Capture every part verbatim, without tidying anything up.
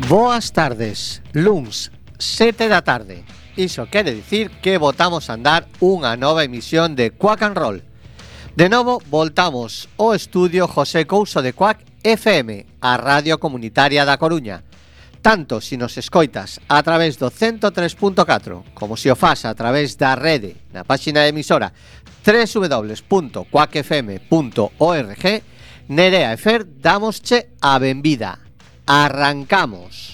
Boas tardes, luns, sete da tarde. Iso quere dicir que votamos a andar unha nova emisión de Quack and Roll. De novo, voltamos ao estudio José Couso de Quack F M, a radio comunitaria da Coruña. Tanto se nos escoitas a través do ciento tres punto catro como se o fas a través da rede na páxina de emisora doble u doble u doble u punto quack f m punto org, Nerea e Fer damosche a benvida. Arrancamos.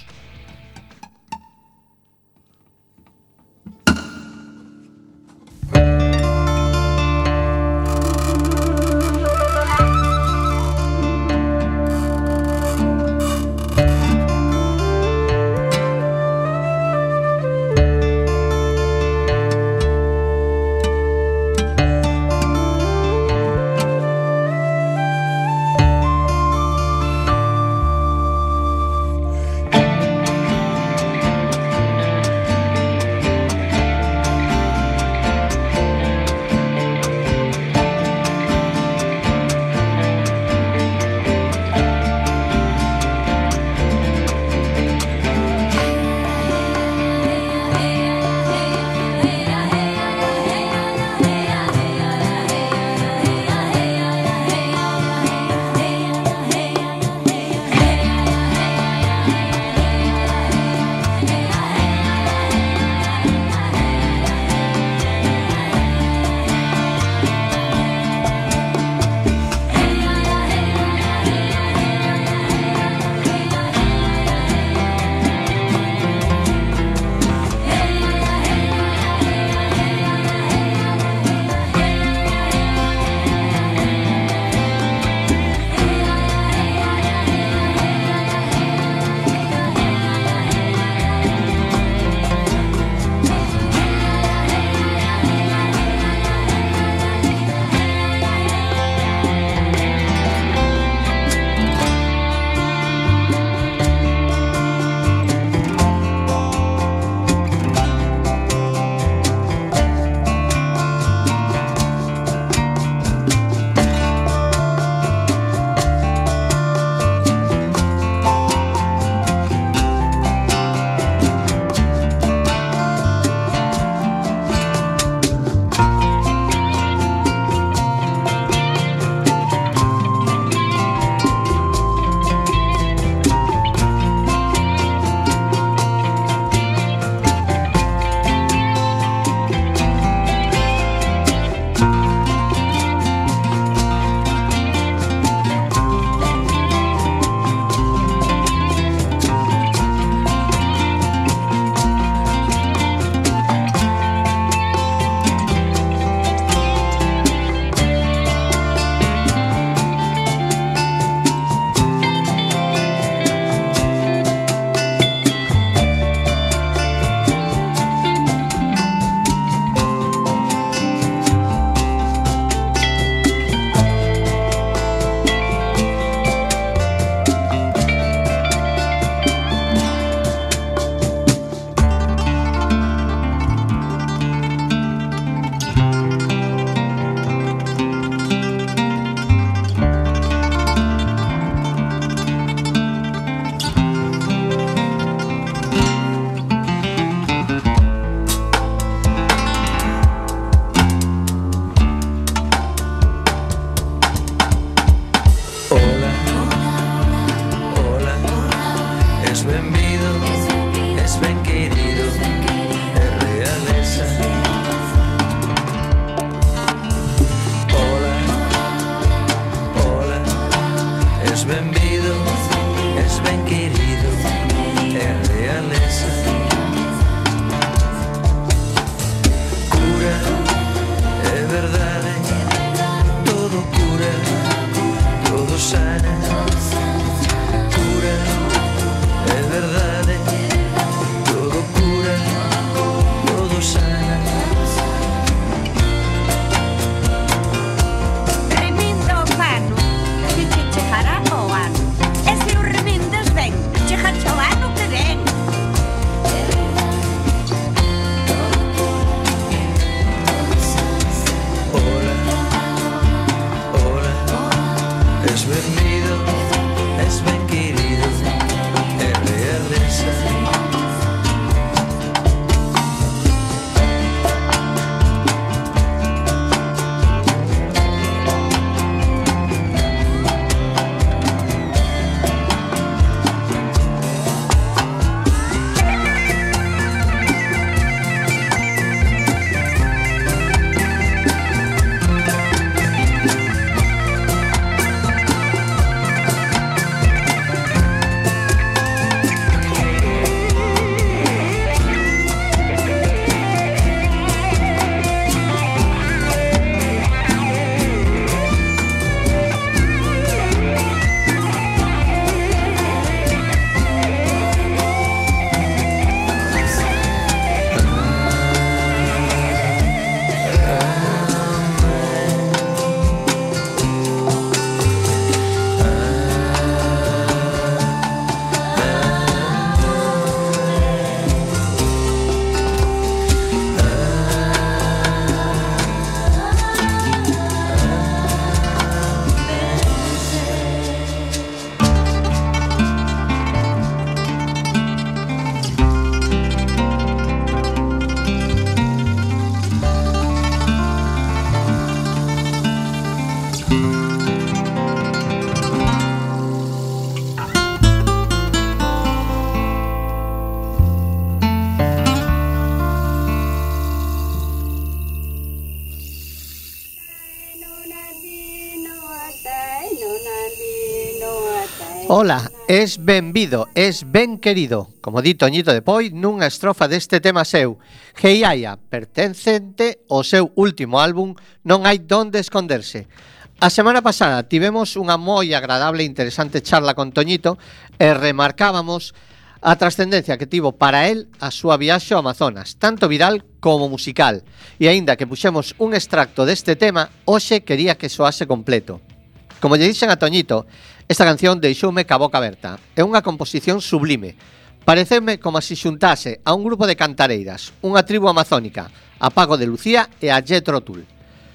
Ola, es benvido, es ben querido, como di Toñito de Poi nunha estrofa deste tema seu. Heiaia, pertencente ao seu último álbum Non hai donde esconderse. A semana pasada tivemos unha moi agradable e interesante charla con Toñito e remarcábamos a trascendencia que tivo para él a súa viaxe ao Amazonas, tanto viral como musical. E aínda que puxemos un extracto deste tema, hoxe quería que soase completo. Como lle dixen a Toñito, esta canción deixoume ca boca aberta. É unha composición sublime. Pareceume como se xuntase a un grupo de cantareiras, unha tribu amazónica, a Paco de Lucía e a Jethro Tull.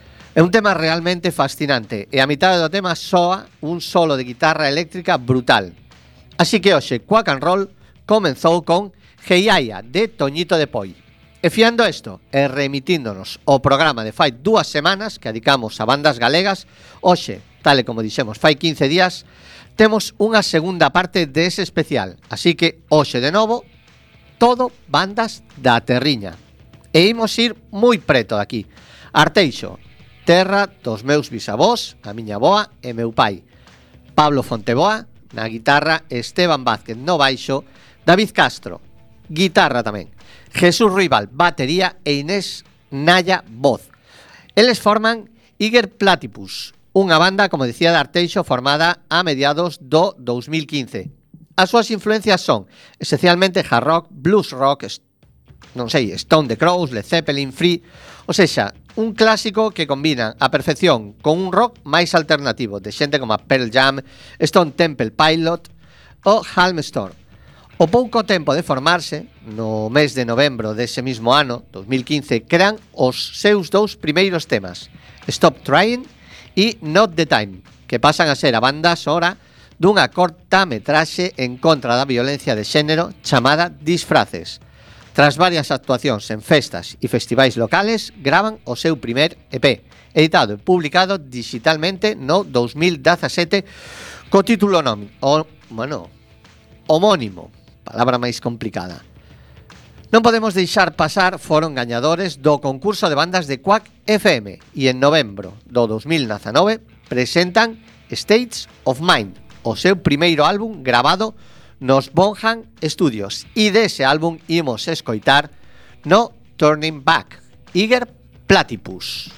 É un tema realmente fascinante e a mitad do tema soa un solo de guitarra eléctrica brutal. Así que hoxe, Quack and Roll comenzou con Heiaia de Toñito de Poi. E fiando isto e remitíndonos ao programa de fai dúas semanas que dedicamos a bandas galegas, hoxe, tal e como dixemos fai quince días, temos unha segunda parte dese especial. Así que hoxe de novo, todo bandas da terriña. E imos ir moi preto de aquí. Arteixo, terra dos meus bisavós, a miña boa e meu pai. Pablo Fonteboa, na guitarra, Esteban Vázquez no baixo, David Castro, guitarra tamén, Jesús Ruibal, batería e Inés Naya, voz. Eles forman Iger Platypus, unha banda, como decía, de Arteixo formada a mediados do dous mil quince. As súas influencias son esencialmente hard rock, blues rock, non sei, Stone the Crows, Led Zeppelin, Free, ou seja, un clásico que combina a perfección con un rock máis alternativo de xente como a Pearl Jam, Stone Temple Pilot ou Halmstone. O pouco tempo de formarse, no mes de novembro dese mismo ano, dous mil quince, crean os seus dous primeiros temas, Stop Trying e Not the Time, que pasan a ser a banda sonora dunha corta metraxe en contra da violencia de xénero chamada Disfraces. Tras varias actuacións en festas e festivais locales, gravan o seu primer E P, editado e publicado digitalmente no dous mil dezasete co título nomi, o, bueno, homónimo, palabra máis complicada. Non podemos deixar pasar, foron gañadores do concurso de bandas de Quack F M e en novembro do dous mil dezanove presentan States of Mind, o seu primeiro álbum gravado nos Bonham Studios, e dese álbum imos escoitar No Turning Back, Iger Platypus.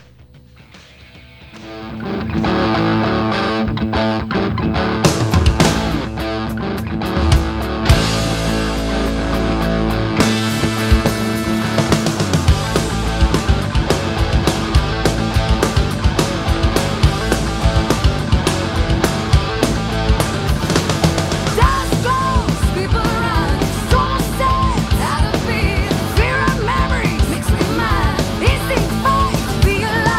Be alive.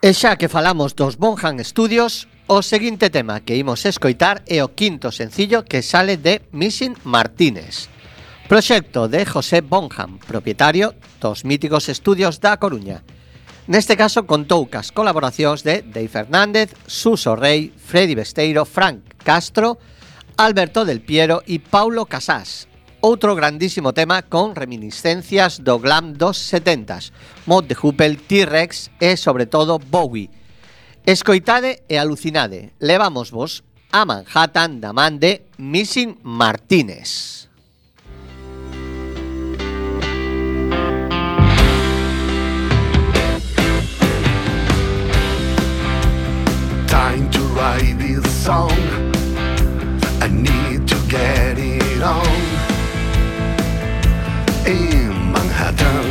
E xa que falamos dos Bonham Studios, o seguinte tema que imos escoitar é o quinto sencillo que sale de Missing Martínez, proxecto de José Bonham, propietario dos míticos estudios da Coruña. Neste caso contou cas colaboracións de Dave Fernández, Suso Rey, Freddy Besteiro, Frank Castro, Alberto Del Piero e Paulo Casás. Outro grandísimo tema con reminiscencias do glam dos setentas, Mod de Hoople, T-Rex e, sobre todo, Bowie. Escoitade e alucinade. Levamos vos a Manhattan da man de Missing Martínez. Time to write this song. I need to get it on. In Manhattan,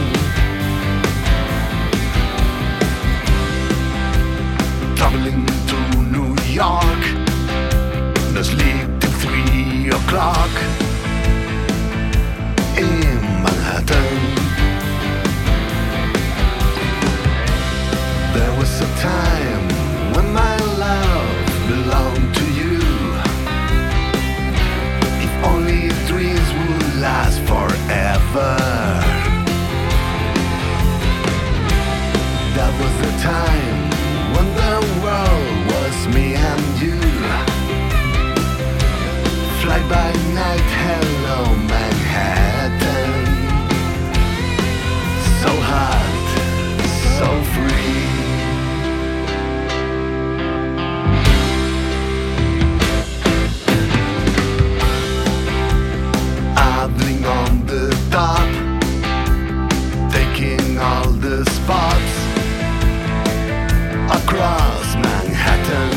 traveling to New York, no sleep till three o'clock. In Manhattan, there was a time when my love belonged to you. If only dreams would last forever. That was the time when the world was me and you. Fly by night, hello Manhattan. So hot, so free. Idling on the top, taking all the spots across Manhattan.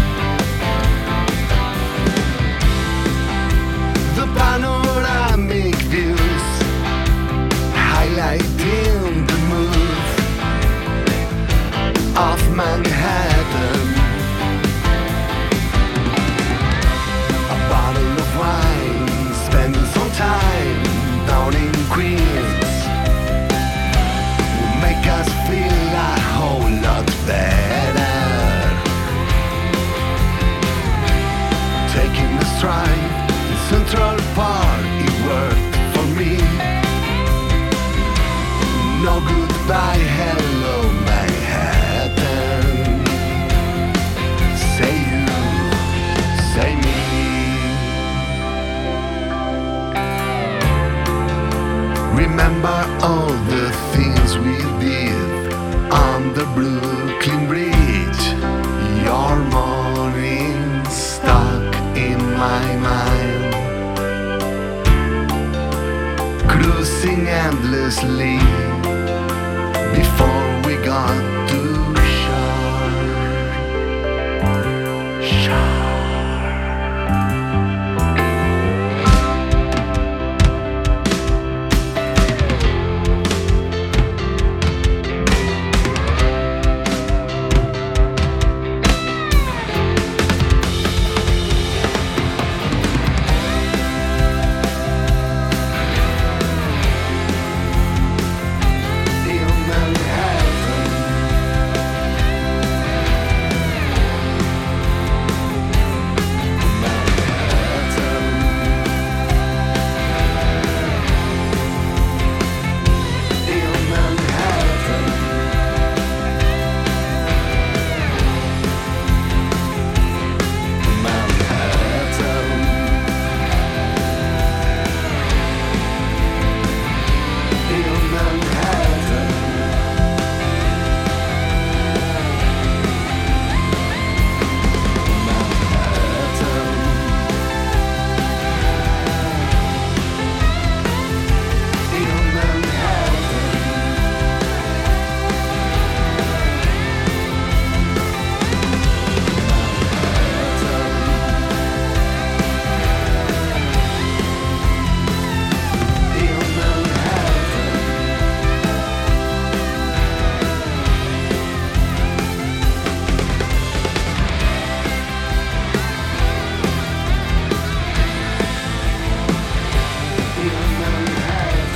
The panoramic views highlighting the mood of Manhattan. A bottle of wine, spending some time down in Queens will make us feel a whole lot better. Taking a stride in Central Park, it worked for me. No goodbye, hello Manhattan. Say you, say me. Remember all the things we did on the Brooklyn Bridge. Your morning stuck in my mind. Cruising endlessly before we got to shore. Shore.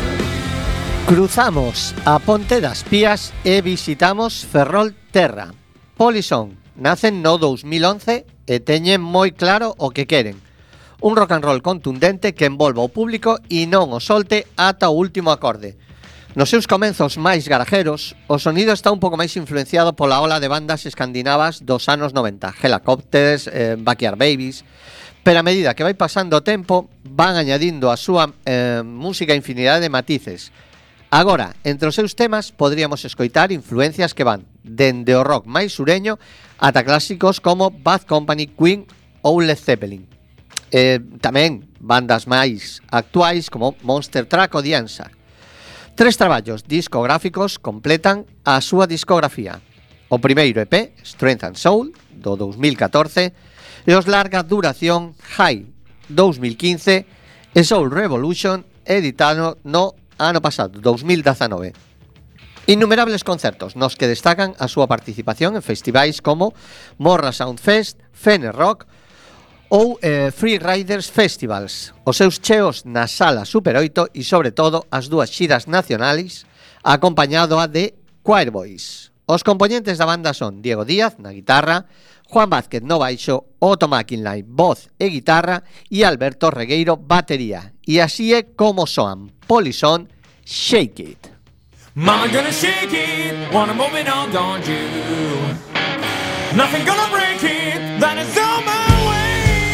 Cruzamos a Ponte das Pías e visitamos Ferrol Terra, Polisón nacen no dous mil once e teñen moi claro o que queren. Un rock and roll contundente que envolva o público e non o solte ata o último acorde. Nos seus comenzos máis garajeros, o sonido está un pouco máis influenciado pola ola de bandas escandinavas dos anos noventa, Helicopters, eh, Backyard Babies, pero a medida que vai pasando o tempo, van añadindo a súa eh, música infinidade de matices. Agora, entre os seus temas, podríamos escoitar influencias que van dende o rock máis sureño ata clásicos como Bad Company, Queen ou Led Zeppelin. Eh, tamén bandas máis actuais como Monster Truck ou The Answer. Tres traballos discográficos completan a súa discografía. O primeiro E P, Strength and Soul, do dous mil catorce, e os larga duración High, dous mil quince, e Soul Revolution, editado no ano pasado, dous mil dezanove. Innumerables concertos nos que destacan a súa participación en festivais como Morra Sound Fest, Fene Rock ou eh, Free Riders Festivals, os seus cheos na Sala Super oito e, sobre todo, as dúas xiras nacionais, acompañado a de Choir Boys. Os componentes da banda son Diego Díaz na guitarra, Juan Vázquez no baixo, Otto McIntyre voz e guitarra e Alberto Regueiro batería. E así é como soan Polisón, Shake It. Mama gonna shake it, wanna move it on, don't you? Nothing gonna break it, that is on my way.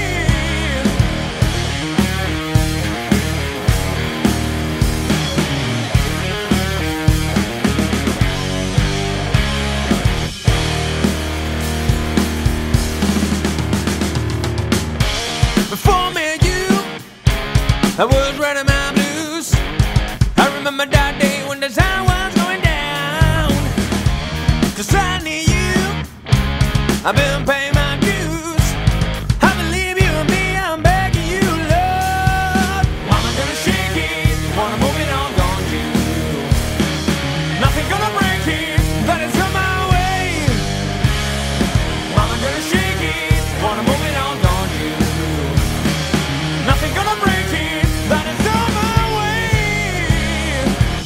Before me and you, I was writing my blues. I remember that day when the sun was going down. Cause I need you, I've been paying my dues. I believe you and me, I'm begging you, love. Mama gonna shake it, wanna move it on, don't you? Nothing gonna break it, that is on my way. Mama gonna shake it, wanna move it on, don't you? Nothing gonna break it, that is on my way.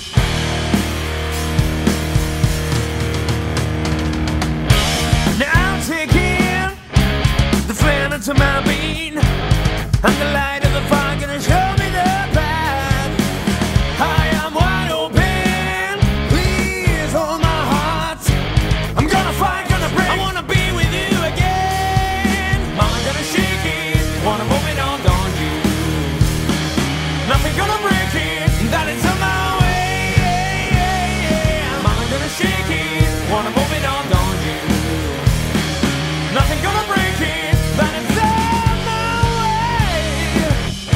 Now I'm taking the flame into my being, and the light of the fire gonna show me the path. I am wide open, please hold my heart. I'm gonna fight, gonna break, I wanna be with you again. Mama gonna shake it, wanna move it on, don't you? Nothing gonna break it, that is on my way. Mama gonna shake it, wanna move it on, don't you? Nothing gonna break it, that is on my way.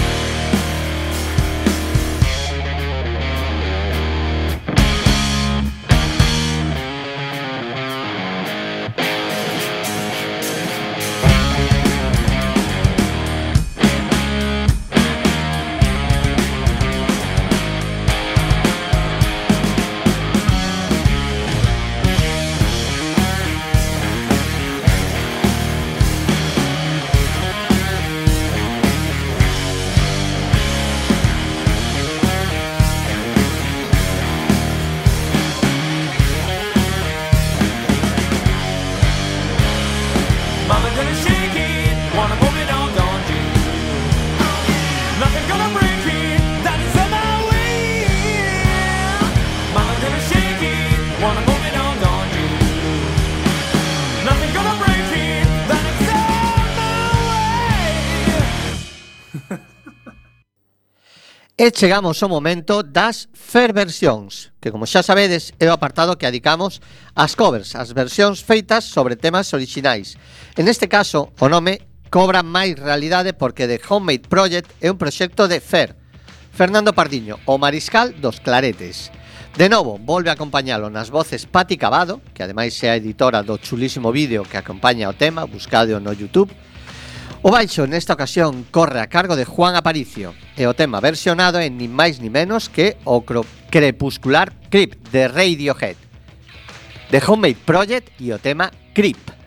Mama gonna shake it, wanna move it on, don't you? Nothing gonna break it, that is on my way. Mama gonna shake it, wanna move it on, don't you? Nothing gonna break it, that is on my way. E chegamos ao momento das Fair Versións, que, como xa sabedes, é o apartado que adicamos ás covers, as versións feitas sobre temas orixinais. En este caso, o nome cobra máis realidade porque The Homemade Project é un proxecto de Fer, Fernando Pardiño, o mariscal dos claretes. De novo, volve a acompañalo nas voces Pati Cavado, que ademais é a editora do chulísimo vídeo que acompaña o tema, buscado no YouTube. O baixo nesta ocasión corre a cargo de Juan Aparicio e o tema versionado é ni máis ni menos que o crepuscular Creep de Radiohead. The Homemade Project e o tema Creep.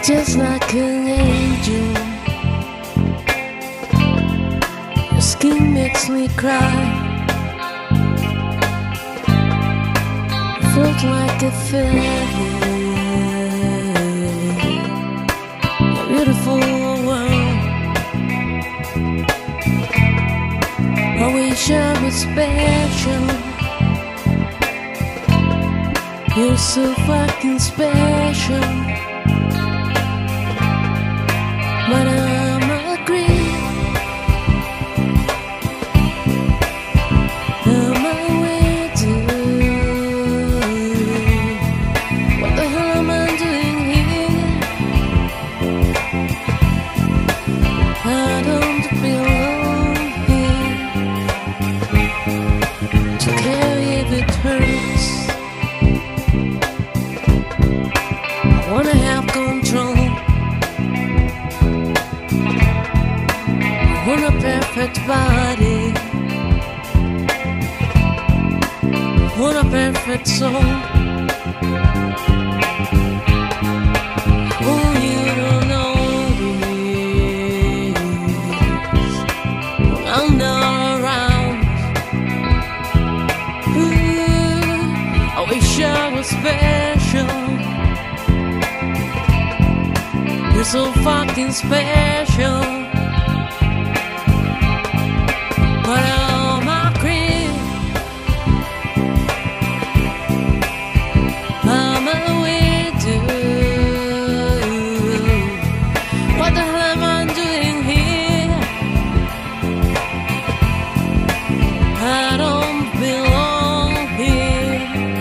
just like an angel. Your skin makes me cry. You float like a feather. You're beautiful world. I wish I was special. You're so fucking special. But I'm a creep. I'm a widow. What the hell am I doing here? I don't belong here. To carry if it hurts. I wanna have control. I want a perfect body. I want a perfect soul. Oh, you don't know this. When I'm not around. Ooh, I wish I was special. You're so fucking special. But I'm a creep. I'm a widow. What the hell am I doing here? I don't belong here.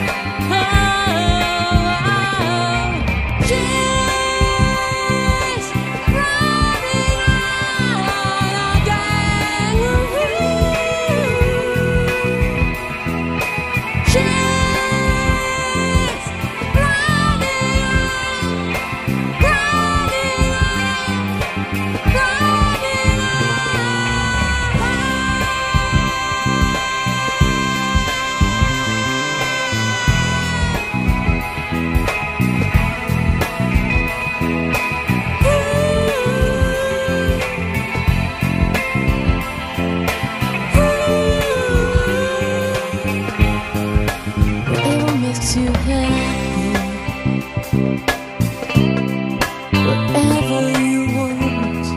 Oh, she's running out again. She's running out, running out, running whatever makes you happy, whatever you want.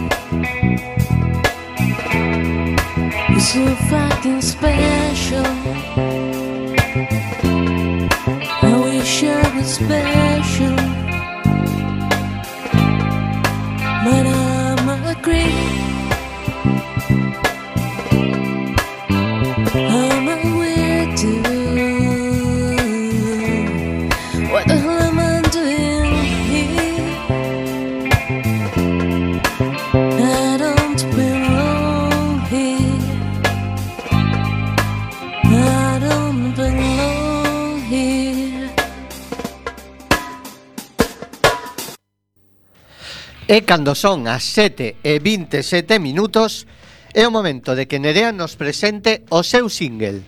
You're so fucking special. I wish I was special. But I'm a creep. I'm a widow. What the hell am I doing here? I don't belong here. I don't belong here. E cando son as sete e vinte e sete minutos, é o momento de que Nerea nos presente o seu single.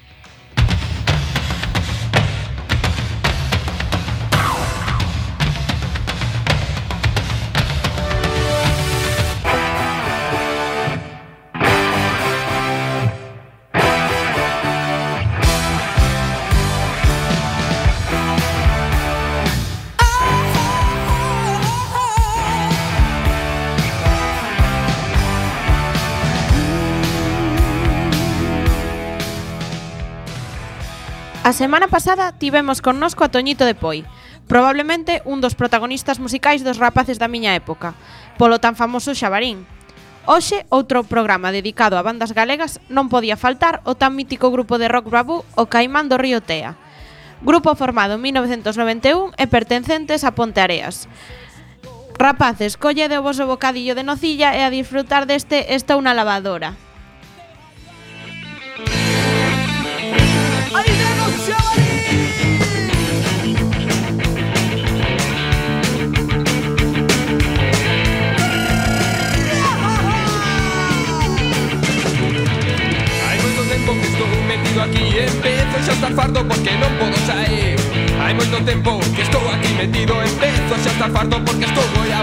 A semana pasada tivemos connosco a Toñito de Poi, probablemente un dos protagonistas musicais dos rapaces da miña época, polo tan famoso Xabarín. Hoxe, outro programa dedicado a bandas galegas, non podía faltar o tan mítico grupo de rock bravú O Caimán do Río Tea. Grupo formado en mil novecentos noventa e un e pertencentes a Ponteareas. Rapaces, collede o voso bocadillo de nocilla e a disfrutar deste Esta unha lavadora. ¡Ahí tenemos Xabarín! Hai moito tempo que estou metido aquí e empezo xa a estar fardo porque non podo sair. Hai moito tempo que estou aquí metido, empezo xa a estar fardo porque estou moi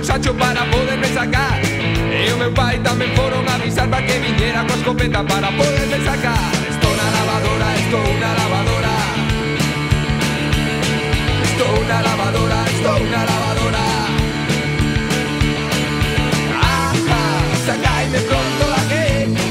Sancho para poderme sacar. E o meu pai tamén foron a avisar para que viñera coa escopeta para poderme sacar. Estou na lavadora, estou na lavadora. Estou na lavadora, estou na lavadora. Ah, ah, sacaime pronto daqui.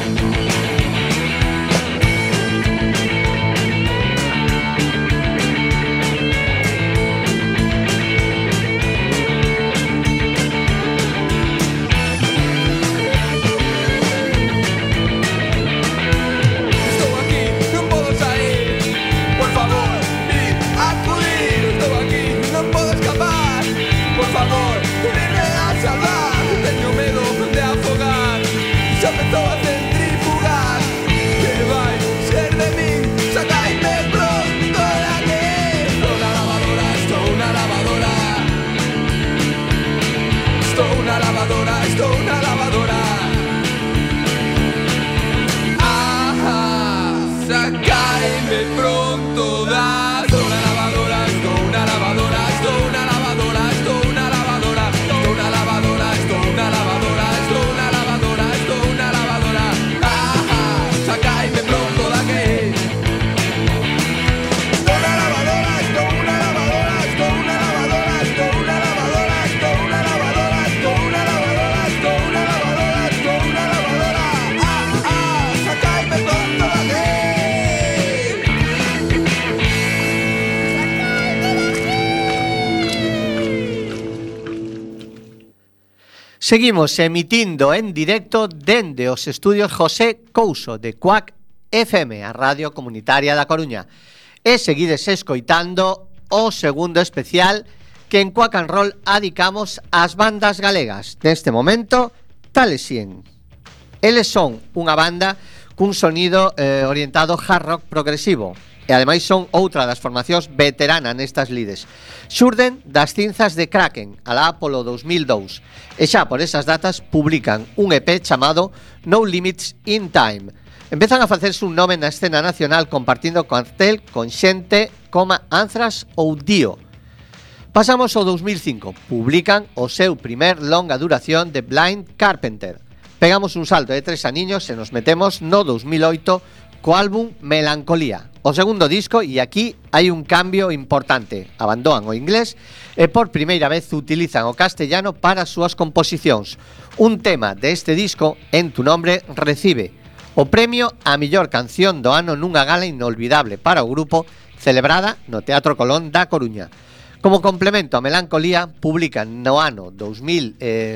Seguimos emitindo en directo dende os estudios José Couso de Cuac F M, a Radio Comunitaria da Coruña. E seguides escoitando o segundo especial que en Quack and Roll adicamos ás bandas galegas. Neste momento, Talesien. Eles son unha banda cun sonido eh, orientado hard rock progresivo. E ademais son outra das formacións veteranas nestas lides. Xurden das cinzas de Kraken, alá polo dous mil dous. E xa por esas datas publican un E P chamado No Limits in Time. Empezan a facerse un nome na escena nacional compartindo cartel con xente como Anthrax ou Dio. Pasamos ao dous mil cinco. Publican o seu primer longa duración de Blind Carpenter. Pegamos un salto de tres aniños e nos metemos no dous mil oito co álbum Melancolía, o segundo disco, e aquí hai un cambio importante. Abandonan o inglés e por primeira vez utilizan o castellano para as súas composicións. Un tema deste disco, En tu nombre, recibe o premio a mellor canción do ano nunha gala inolvidable para o grupo celebrada no Teatro Colón da Coruña. Como complemento a Melancolía, publican no ano dous mil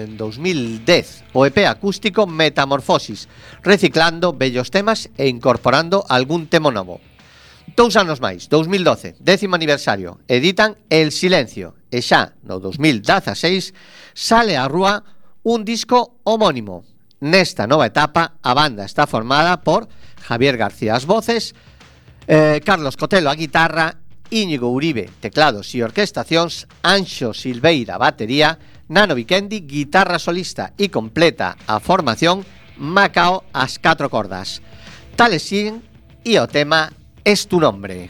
dez o E P acústico Metamorfosis, reciclando bellos temas e incorporando algún tema novo. Dous anos máis, dous mil doce, décimo aniversario, editan El Silencio e xa no dous mil dezaseis sale á rúa un disco homónimo. Nesta nova etapa, a banda está formada por Javier García as voces, eh, Carlos Cotelo a guitarra, Íñigo Uribe, teclados e orquestacións, Anxo Silveira, batería, Nano Vikendi, guitarra solista e completa a formación Macao as catro cordas. Talesien e o tema Es tu nombre.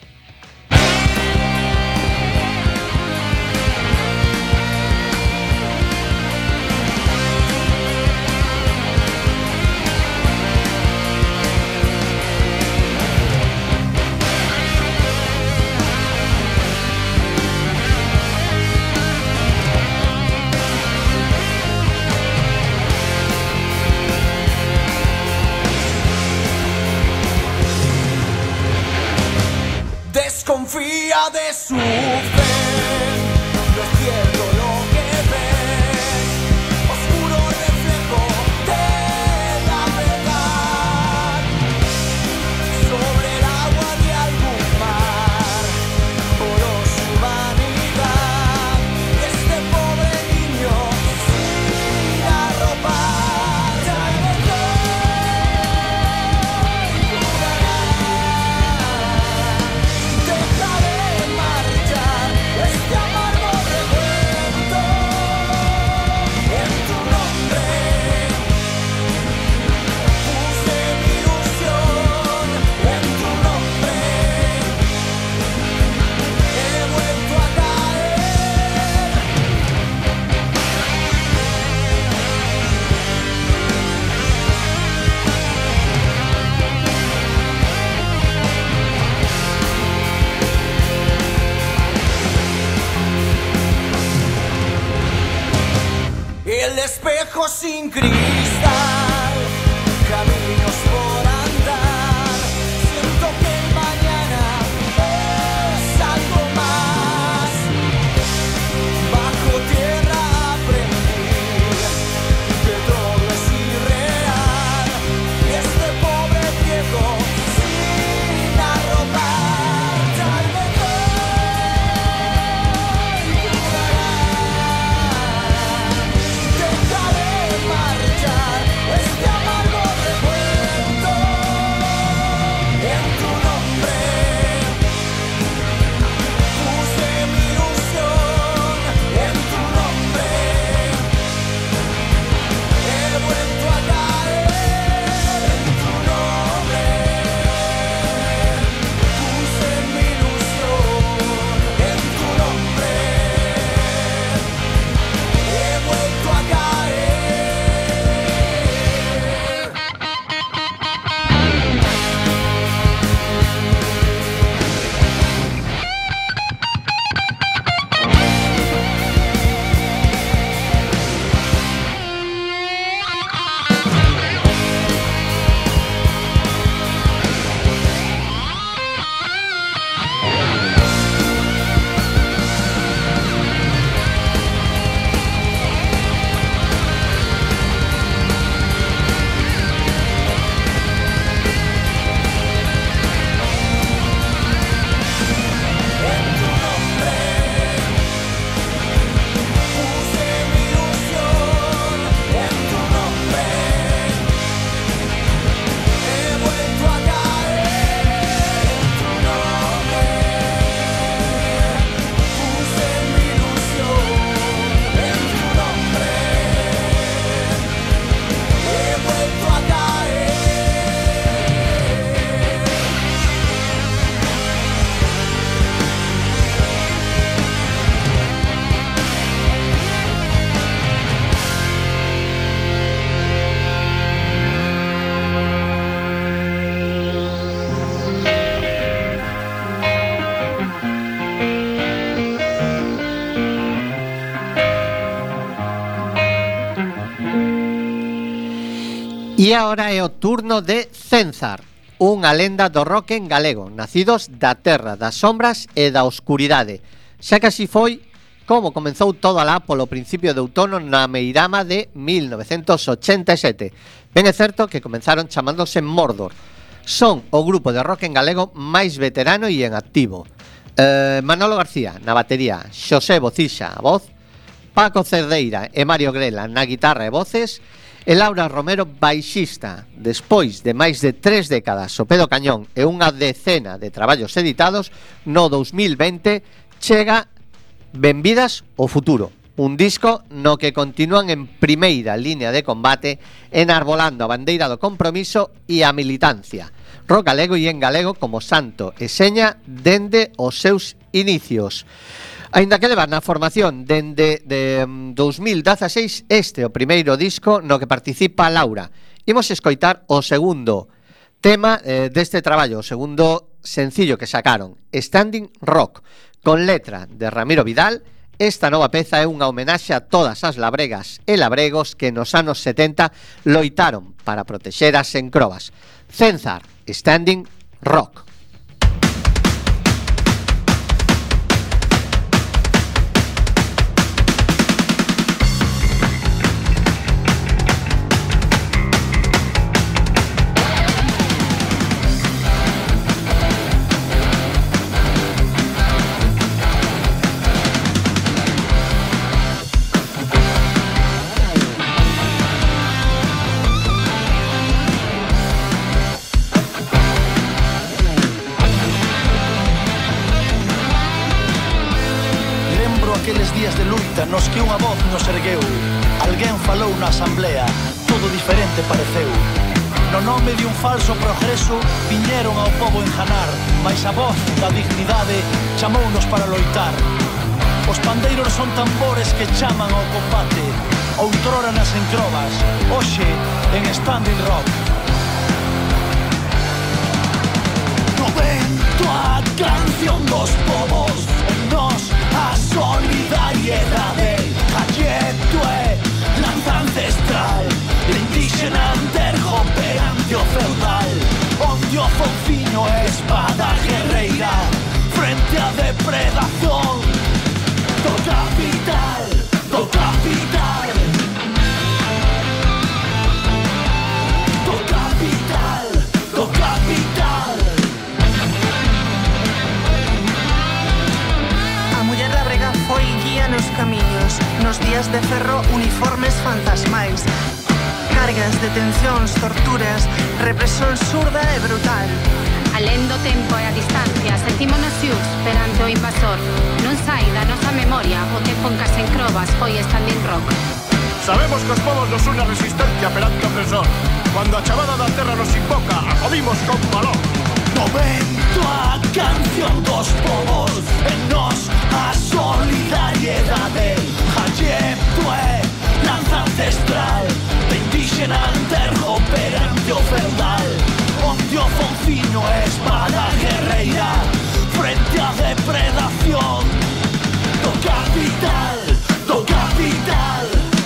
Desconfía de su fe, no es cierto lo que ves, oscuro reflejo de la verdad, sobre el agua de algún mar, por su humanidad, y este pobre niño sin arropar, ya me doy, dejaré marchar. espejo sin cristal, caminos por andar, siento que el mañana es algo más. Bajo tierra aprendí que todo es irreal, y este pobre viejo sin arrojar, tal vez hoy durará. Dejaré marchar este amargo recuerdo en tu nombre. Puse mi ilusión en tu nombre. He vuelto a caer en tu nombre. Puse mi ilusión en tu nombre. He vuelto a caer. E agora é o turno de Cenzar, unha lenda do rock en galego, nacidos da terra, das sombras e da oscuridade. Xa que así foi como comenzou todo alá polo principio de outono na Meirama de mil novecentos ochenta e sete. Ben é certo que comenzaron chamándose Mordor. Son o grupo de rock en galego máis veterano e en activo. eh, Manolo García na batería, Xosé Bocixa a voz, Paco Cerdeira e Mario Grela na guitarra e voces, e Laura Romero baixista. Despois de máis de tres décadas ao pé do cañón e unha decena de traballos editados, no dous mil vinte chega Benvidas ao futuro, un disco no que continúan en primeira línea de combate, enarbolando a bandeira do compromiso e a militancia. Rock galego e en galego como santo e seña dende os seus inicios. Aínda que levan na formación dende de dous mil dezaseis, este o primeiro disco no que participa Laura. Imos escoitar o segundo tema eh, deste traballo, o segundo sencillo que sacaron, Standing Rock, con letra de Ramiro Vidal. Esta nova peza é unha homenaxe a todas as labregas e labregos que nos anos setenta loitaron para protexer as encrobas. Cenzar, Standing Rock. Nos que unha voz nos ergueu, alguén falou na asamblea, todo diferente pareceu. No nome de un falso progreso viñeron ao pobo enjanar, mais a voz da dignidade chamounos para loitar. Os pandeiros son tambores que chaman ao combate, outrora nas encrobas, hoxe en Standing Rock. No vento a canción dos povos, en nos a solidariedade, a quieto é lanzar corazón. Do capital, do capital. Do capital, do capital. A muller labrega foi guía nos camiños, nos días de ferro, uniformes fantasmais, cargas, detencións, torturas, represión surda e brutal. Alén do tempo e a distancia, sentímonos xus perante o invasor. Non sai da nosa memoria o tempo en que as encrobas foi standing rock. Sabemos que os povos nos une a resistencia perante o opresor. Cuando a chamada da terra nos invoca, acodimos con valor. Momento a canción dos povos, en nos a solidariedade. Hallepto é lanza ancestral de indígena antergo perante o feudal, onde o fonciño é espada guerreira frente á depredación do capital, do capital,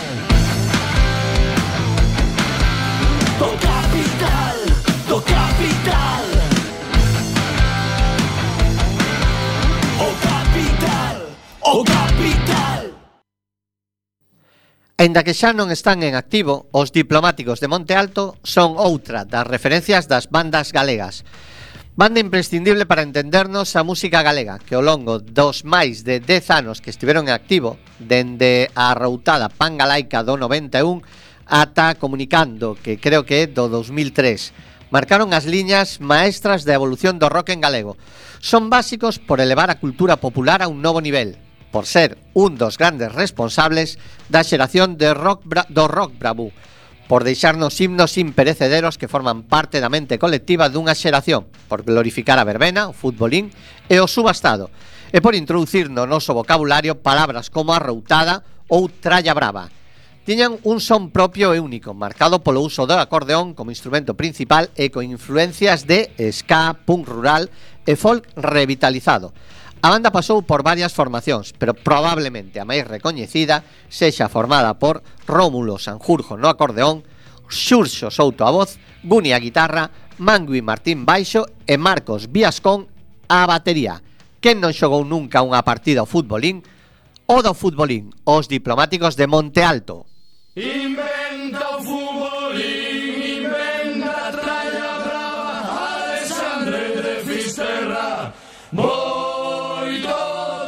do capital, do capital, o capital, o capital. Aínda que xa non están en activo, os Diplomáticos de Monte Alto son outra das referencias das bandas galegas. Banda imprescindible para entendernos a música galega, que ao longo dos máis de dez anos que estiveron en activo, dende a arroutada Pangalaica do noventa e un ata Comunicando, que creo que é do dos mil tres, marcaron as liñas maestras da evolución do rock en galego. Son básicos por elevar a cultura popular a un novo nivel, por ser un dos grandes responsables da xeración de rock bra- do rock bravú, por deixarnos himnos imperecederos que forman parte da mente colectiva dunha xeración, por glorificar a verbena, o futbolín e o subastado, e por introducir no noso vocabulario palabras como arroutada ou tralla brava. Tiñan un son propio e único, marcado polo uso do acordeón como instrumento principal e con influencias de ska, punk rural e folk revitalizado. A banda pasou por varias formacións, pero probablemente a máis recoñecida sexa formada por Rómulo Sanjurjo no acordeón, Xurxo Souto a voz, Guni a guitarra, Mangui Martín baixo e Marcos Viascón a batería. Quen non xogou nunca unha partida ao futbolín? O do futbolín, os Diplomáticos de Monte Alto. Inventa o futbolín, inventa a tralla brava, Alexandre de Fisterra, moito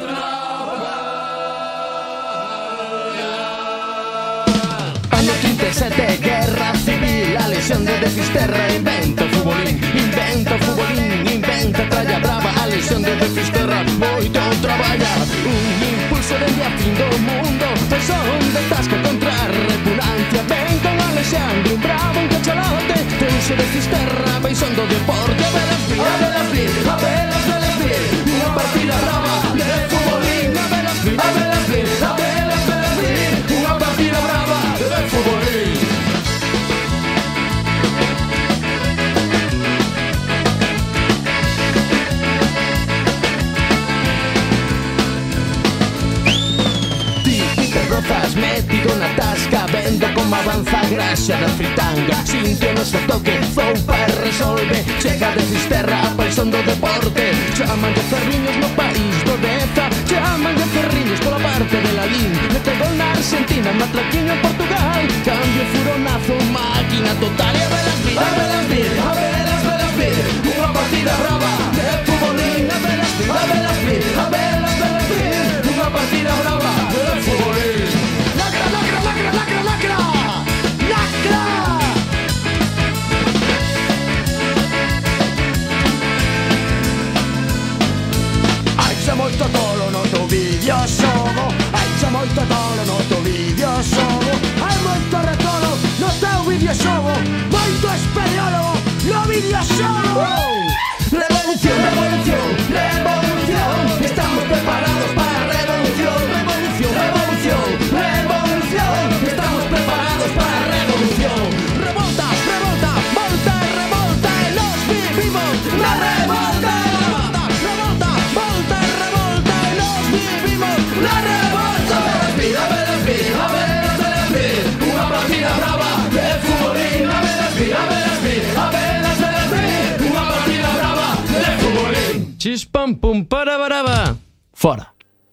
traballa. Año trinta e sete, guerra civil, a lesión de de Fisterra, inventa o futbolín, inventa o futbolín, inventa a tralla brava, a lesión de de Fisterra, moito traballa. Un impulso dende a fin do mundo, son de tasca contra a repugnancia. Ven con Alexandre, un bravo, un cachalote, Tenso de Fisterra, paixón do deporte. A velas vir, a velas vir, a velas, velas vir, unha partida brava de futbolín. A velas vir, a velas vir, a velas, velas vir, unha partida brava de futbolín. Metido na tasca, vendo como avanza a graxa da fritanga. Sinto no seu toque, zoupa e resolve. Chega de Fisterra a paixón do deporte. Chaman de ferriños no país do Deza, chaman de ferriños pola parte de Lalín. Mete gol na Argentina, matraquiño en Portugal. Cambio furonazo, máquina total. E a velas vir, a velas vir, a velas, velas vir, unha partida brava de futbolín. A velas vir, a velas vir, a velas, velas vir, unha partida brava de futbolín. Lacra, lacra, lacra, lacra, lacra, lacra. Hai xa moito tolo no teu videoxogo, hai xa moito tolo no teu videoxogo, hai moito retolo no teu videoxogo, moito espeleólogo no videoxogo. Revolución, revolución, revolución, estamos preparados para a revolución. Revolución, revolución, revolución, estamos preparados para a revolución. Revolta, revolta, volta e revolta, e nos vivimos na revolta. Revolta, revolta, volta e revolta, e nos vivimos na revolta. A velas vir, a velas vir, a velas vir, unha partida brava de futbolín. A velas vir, a velas vir, a velas, velas vir, unha partida brava de futbolín. Chispam pum para baraba. Fora.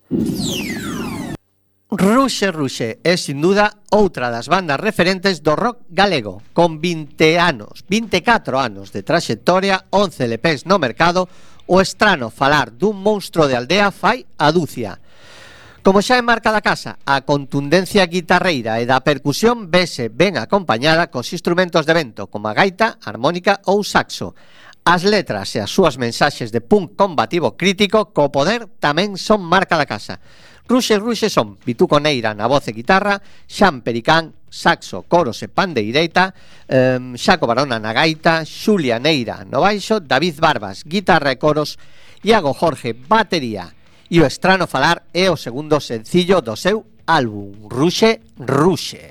Ruxe Ruxe é, sin duda, outra das bandas referentes do rock galego, con vinte anos, vinte e catro anos de traxectoria, once L Ps no mercado. O estrano falar dun monstro de aldea fai a dúcia. Como xa en marca da casa, a contundencia guitarreira e da percusión vese ben acompañada cos instrumentos de vento, como a gaita, armónica ou saxo. As letras e as súas mensaxes de punk combativo crítico co poder tamén son marca da casa. Ruxe Ruxe son Vituco Neira na voz e guitarra, Xan Pericán, saxo, coros e pandeireita, eh, Xaco Barona na gaita, Xulia Neira no baixo, David Barbas, guitarra e coros, Iago Jorge, batería. E o estrano falar é o segundo sencillo do seu álbum, Ruxe Ruxe.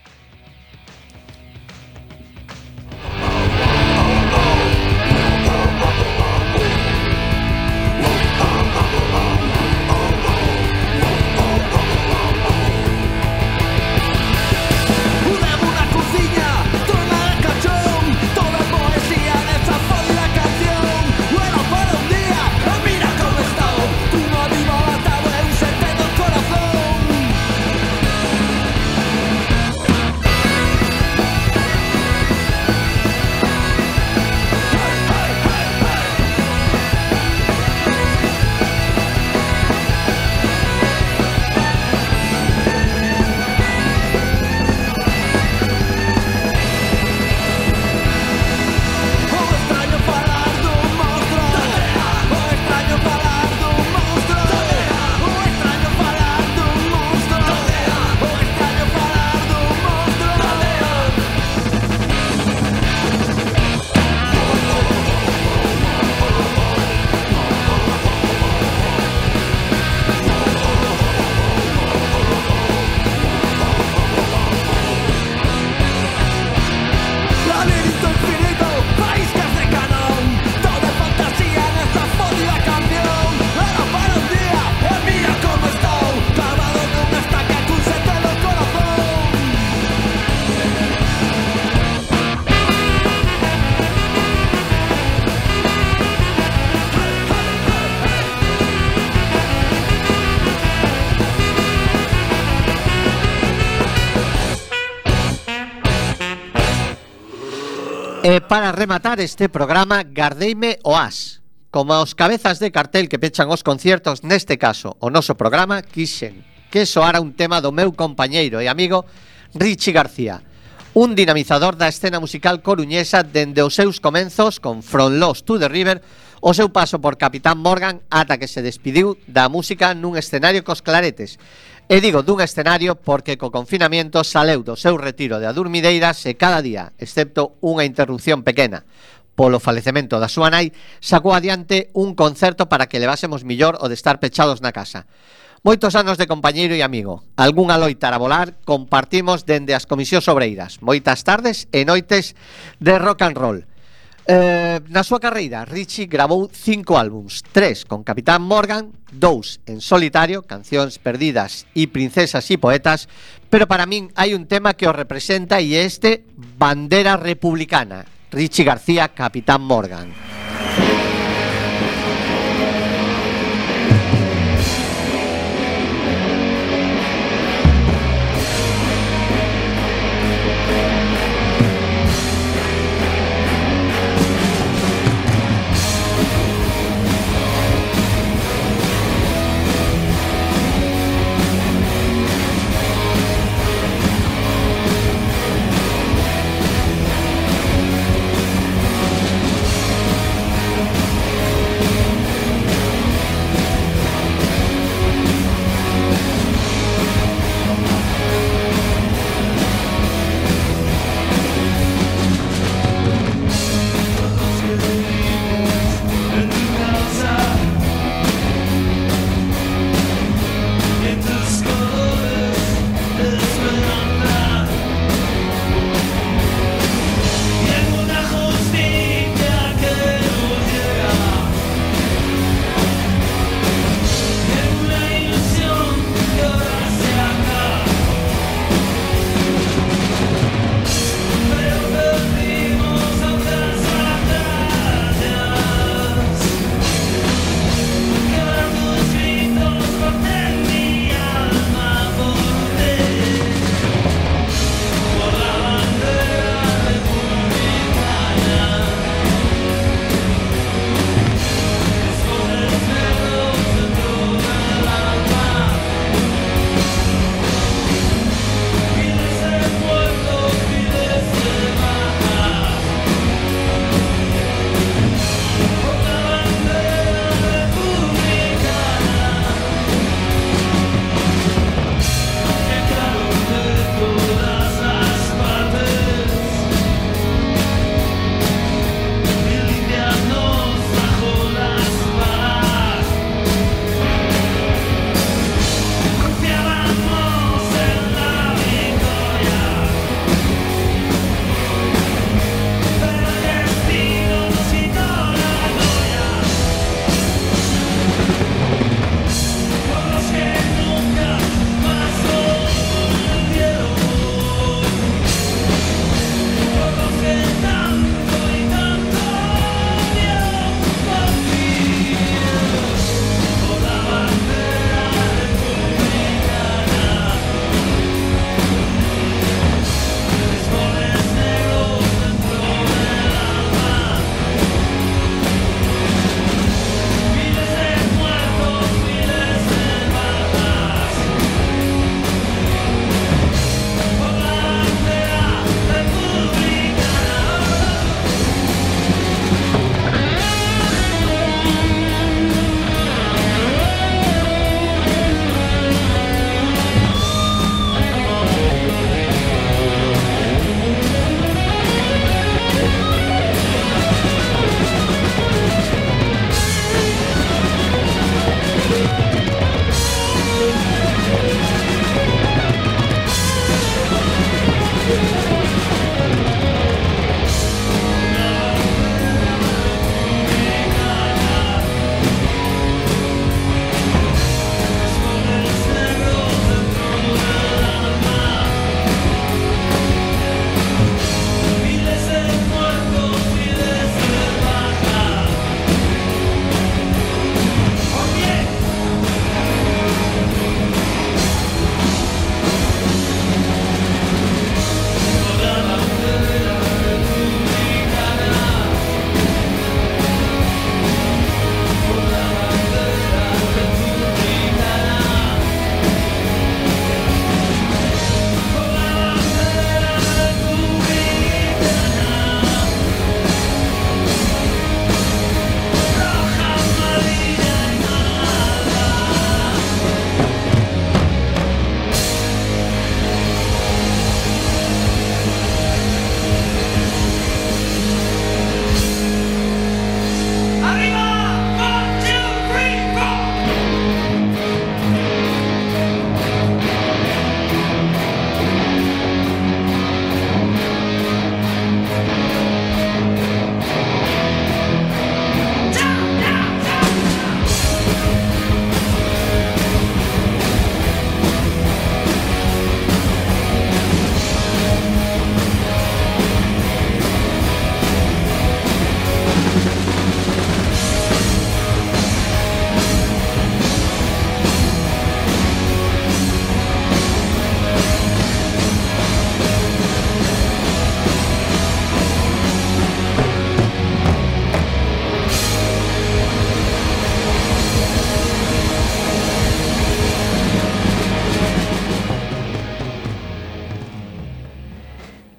E para rematar este programa, gardeime o as. Como os cabezas de cartel que pechan os conciertos, neste caso, o noso programa, quixen que soara un tema do meu compañeiro e amigo Richie García, un dinamizador da escena musical coruñesa dende os seus comenzos con From Lost to the River, o seu paso por Capitán Morgan ata que se despidiu da música nun escenario cos claretes. E digo dun escenario porque co confinamiento saleu do seu retiro de adurmideiras e cada día, excepto unha interrupción pequena polo falecemento da súa nai, sacou adiante un concerto para que levásemos millor o de estar pechados na casa. Moitos anos de compañeiro e amigo, algunha loita a volar compartimos dende as comisións obreiras, moitas tardes e noites de rock and roll. Eh, na súa carreira, Richie gravou cinco álbums, tres con Capitán Morgan, dous en solitario, Cancións Perdidas e Princesas e Poetas, pero para min hai un tema que o representa e é este Bandera Republicana, Richie García, Capitán Morgan.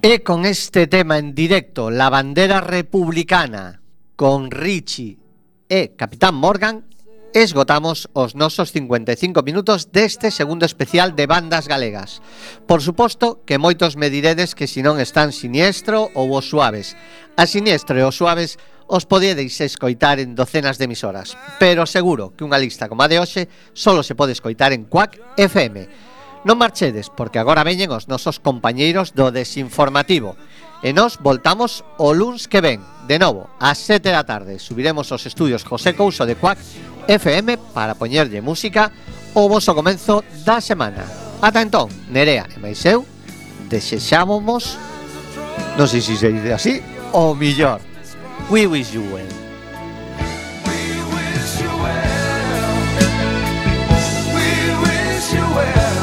E con este tema en directo, La bandera republicana, con Richie e Capitán Morgan, esgotamos os nosos cincuenta e cinco minutos deste segundo especial de bandas galegas. Por suposto que moitos me diredes que si non están Siniestro ou Os Suaves. A Siniestro e Os Suaves os podiedeis escoitar en docenas de emisoras, pero seguro que unha lista como a de hoxe solo se pode escoitar en Quack F M. Non marchedes, porque agora veñen os nosos compañeiros do Desinformativo. E nos voltamos o luns que ven, de novo, ás sete da tarde. Subiremos aos estudios José Couso de Quack F M para poñerlle música o voso comenzo da semana. Ata entón, Nerea e máis eu desexámonos, non sei se se dice así, o millor. We wish you well. We wish you well. We wish you well.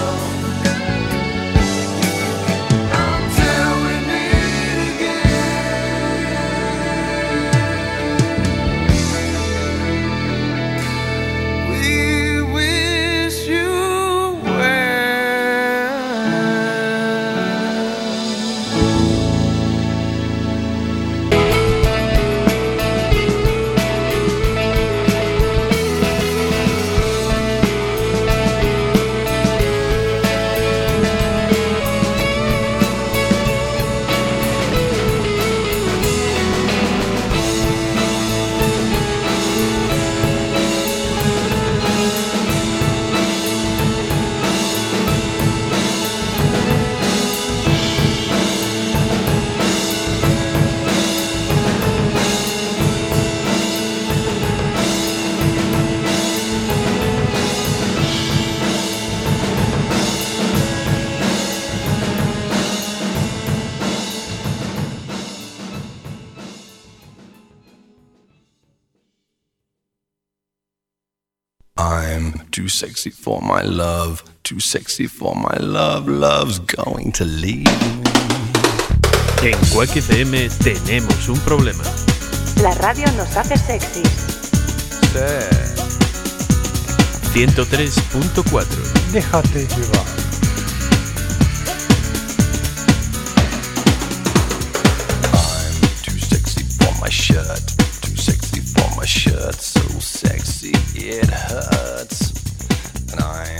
Too sexy for my love, too sexy for my love, love's going to leave me. En Quack F M tenemos un problema. La radio nos hace sexys. Sí. ciento tres punto cuatro. Déjate llevar. I'm too sexy for my shirt, too sexy for my shirt, so sexy it hurts. And I